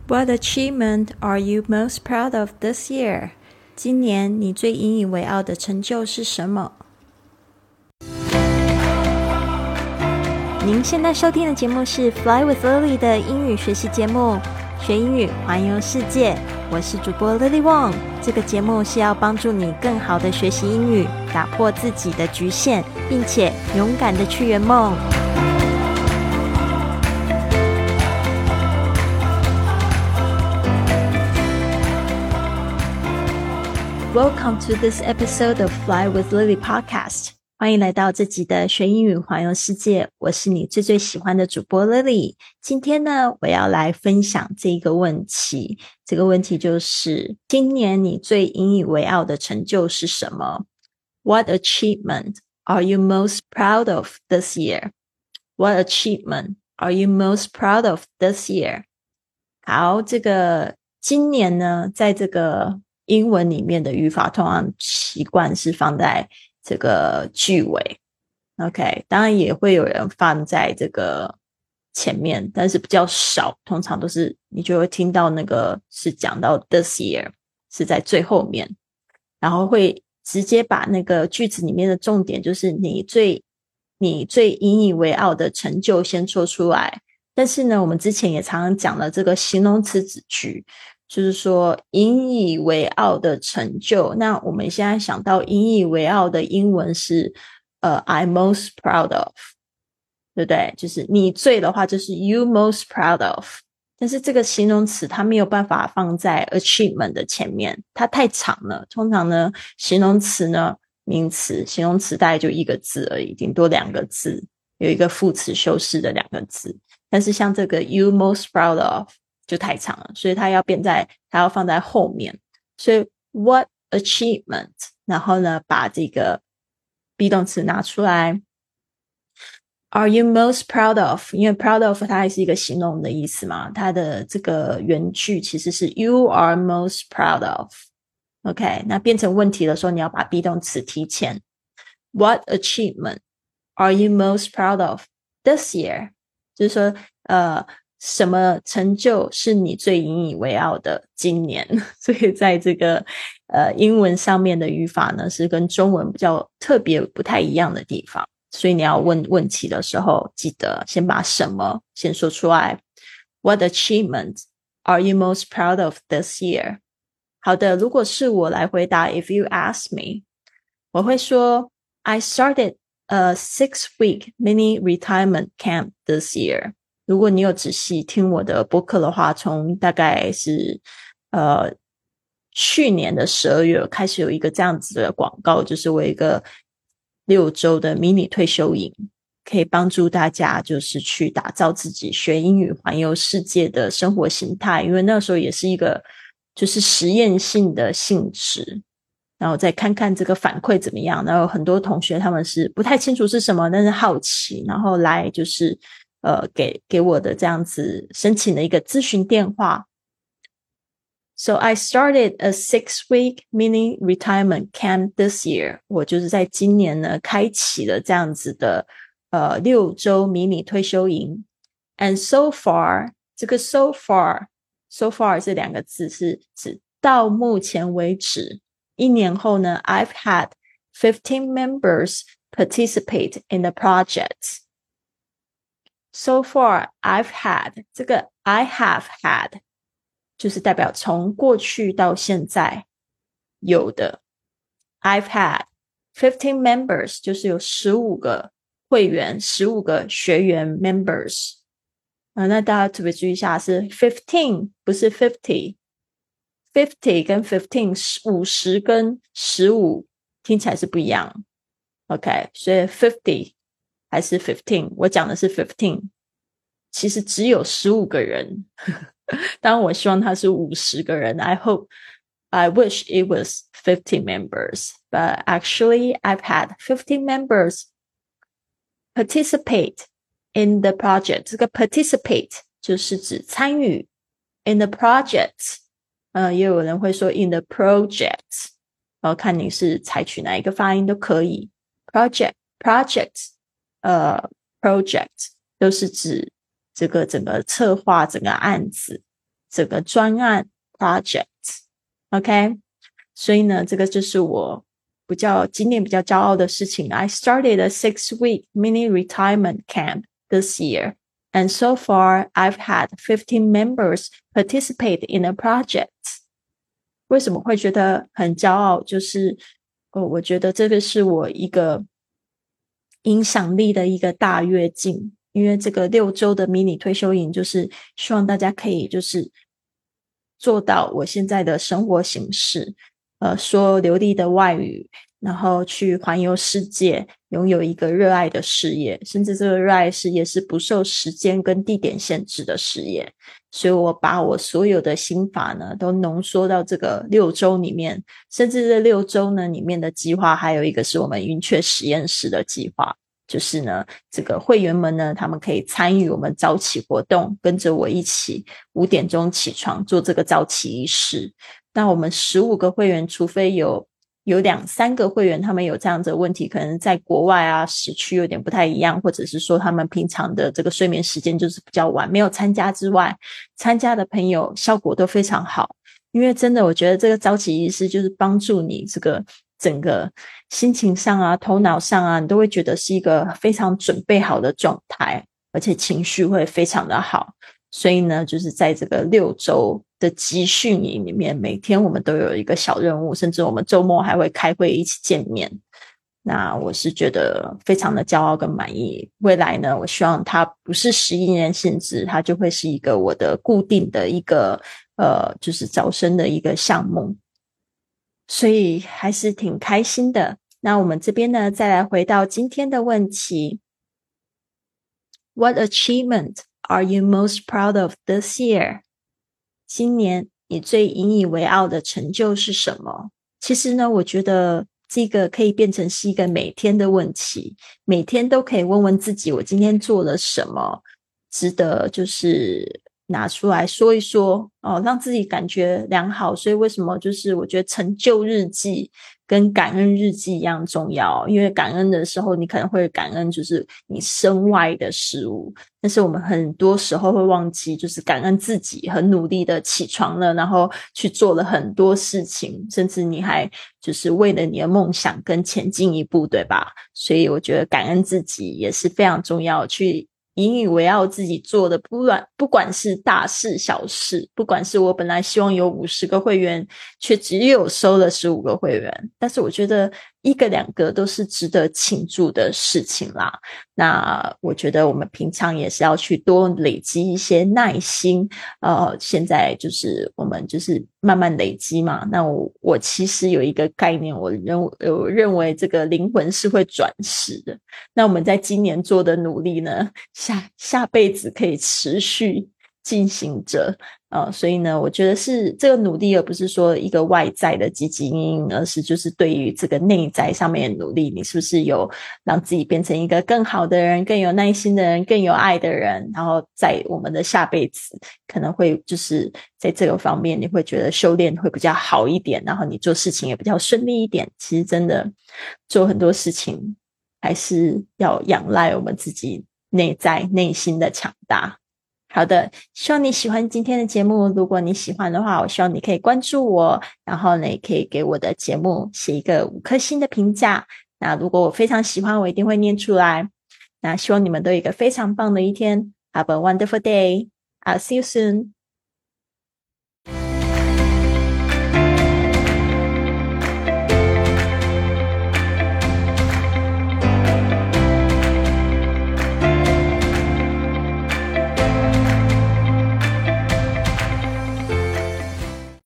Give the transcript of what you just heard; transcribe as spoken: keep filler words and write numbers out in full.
What achievement are you most proud of this year? 今年你最引以为傲的成就是什么？您现在收听的节目是 Fly with Lily 的英语学习节目，学英语环游世界。我是主播 Lily Wong。这个节目是要帮助你更好的学习英语，打破自己的局限，并且勇敢的去圆梦。Welcome to this episode of Fly with Lily Podcast. 欢迎来到这集的学英语环游世界，我是你最最喜欢的主播 Lily。今天呢，我要来分享这一个问题，这个问题就是今年你最引以为傲的成就是什么？ What achievement are you most proud of this year? What achievement are you most proud of this year? 好，这个今年呢，在这个英文里面的语法通常习惯是放在这个句尾 OK， 当然也会有人放在这个前面，但是比较少，通常都是你就会听到那个是讲到 this year 是在最后面，然后会直接把那个句子里面的重点就是你最你最引以为傲的成就先说出来。但是呢，我们之前也常常讲了这个形容词子句，就是说引以为傲的成就，那我们现在想到引以为傲的英文是呃 I'm most proud of， 对不对？就是你最的话就是 you most proud of， 但是这个形容词它没有办法放在 achievement 的前面，它太长了。通常呢，形容词呢，名词形容词大概就一个字而已，顶多两个字，有一个副词修饰的两个字，但是像这个 you most proud of就太长了，所以它要变在它要放在后面。所以 what achievement， 然后呢把这个 be 动词拿出来。 Are you most proud of， 因为 proud of 它还是一个形容的意思嘛，它的这个原句其实是 you are most proud of。 OK， 那变成问题的时候你要把 be 动词提前。 What achievement are you most proud of this year？ 就是说呃什么成就是你最引以为傲的今年？所以在这个呃英文上面的语法呢，是跟中文比较特别不太一样的地方。所以你要问问题的时候，记得先把什么先说出来。What achievement are you most proud of this year？ 好的，如果是我来回答 If you ask me， 我会说 I started a six-week mini retirement camp this year。如果你有仔细听我的播客的话，从大概是呃去年的十二月开始有一个这样子的广告，就是我有一个六周的迷你退休营，可以帮助大家就是去打造自己学英语环游世界的生活形态。因为那时候也是一个就是实验性的性质，然后再看看这个反馈怎么样。然后很多同学他们是不太清楚是什么，但是好奇，然后来就是呃，给给我的这样子申请了一个咨询电话。So I started a six-week mini retirement camp this year。 我就是在今年呢，开启了这样子的呃六周迷你退休营。And so far， 这个 so far so far 这两个字是指到目前为止。一年后呢 ，I've had fifteen members participate in the project。So far, I've had 这个 I have had 就是代表从过去到现在有的。I've had fifteen members 就是有十五个会员，十五个学员 members。呃、那大家特别注意一下，是 fifteen 不是 fifty。fifty 跟fifteen 五十跟十五听起来是不一样。OK， 所以 fifty还是 fifteen， 我讲的是 fifteen， 其实只有十五个人。当然我希望他是五十个人。 I hope I wish it was fifty members, but actually I've had fifteen members participate in the project。 这个 participate 就是指参与， in the project 呃，也有人会说 in the project， 然后看你是采取哪一个发音都可以。 project project呃 project 都是指这个整个策划整个案子整个专案 project。 OK， 所以呢这个就是我比较今年比较骄傲的事情。 I started a six week mini retirement camp this year, and so far I've had fifteen members participate in a project。 为什么会觉得很骄傲，就是呃，我觉得这个是我一个影响力的一个大跃进，因为这个六周的迷你退休营就是希望大家可以就是做到我现在的生活形式，呃，说流利的外语，然后去环游世界，拥有一个热爱的事业，甚至这个热爱事业是不受时间跟地点限制的事业。所以我把我所有的心法呢都浓缩到这个六周里面，甚至这六周呢里面的计划还有一个是我们云雀实验室的计划，就是呢这个会员们呢他们可以参与我们早起活动，跟着我一起五点钟起床做这个早起仪式。那我们十五个会员，除非有有两三个会员他们有这样子的问题，可能在国外啊时区有点不太一样，或者是说他们平常的这个睡眠时间就是比较晚没有参加之外，参加的朋友效果都非常好。因为真的我觉得这个早起仪式就是帮助你这个整个心情上啊头脑上啊你都会觉得是一个非常准备好的状态，而且情绪会非常的好。所以呢就是在这个六周的集训营里面，每天我们都有一个小任务，甚至我们周末还会开会一起见面。那我是觉得非常的骄傲跟满意。未来呢我希望它不是十一年限制，它就会是一个我的固定的一个呃，就是招生的一个项目，所以还是挺开心的。那我们这边呢再来回到今天的问题， What achievement are you most proud of this year？ 今年你最引以为傲的成就是什么？其实呢我觉得这个可以变成是一个每天的问题，每天都可以问问自己我今天做了什么值得就是拿出来说一说哦，让自己感觉良好。所以为什么就是我觉得成就日记跟感恩日记一样重要，因为感恩的时候你可能会感恩就是你身外的事物，但是我们很多时候会忘记就是感恩自己很努力的起床了，然后去做了很多事情，甚至你还就是为了你的梦想更前进一步，对吧？所以我觉得感恩自己也是非常重要，去引以为傲自己做的，不管不管是大事小事，不管是我本来希望有五十个会员却只有收了十五个会员，但是我觉得一个两个都是值得庆祝的事情啦。那我觉得我们平常也是要去多累积一些耐心，呃，现在就是我们就是慢慢累积嘛。那我我其实有一个概念，我认我认为这个灵魂是会转世的。那我们在今年做的努力呢，下下辈子可以持续进行着。呃，所以呢我觉得是这个努力而不是说一个外在的积极因应，而是就是对于这个内在上面的努力，你是不是有让自己变成一个更好的人，更有耐心的人，更有爱的人，然后在我们的下辈子可能会就是在这个方面你会觉得修炼会比较好一点，然后你做事情也比较顺利一点。其实真的做很多事情还是要仰赖我们自己内在内心的强大。好的，希望你喜欢今天的节目。如果你喜欢的话，我希望你可以关注我，然后呢也可以给我的节目写一个五颗星的评价。那如果我非常喜欢，我一定会念出来。那希望你们都有一个非常棒的一天。Have a wonderful day. I'll see you soon.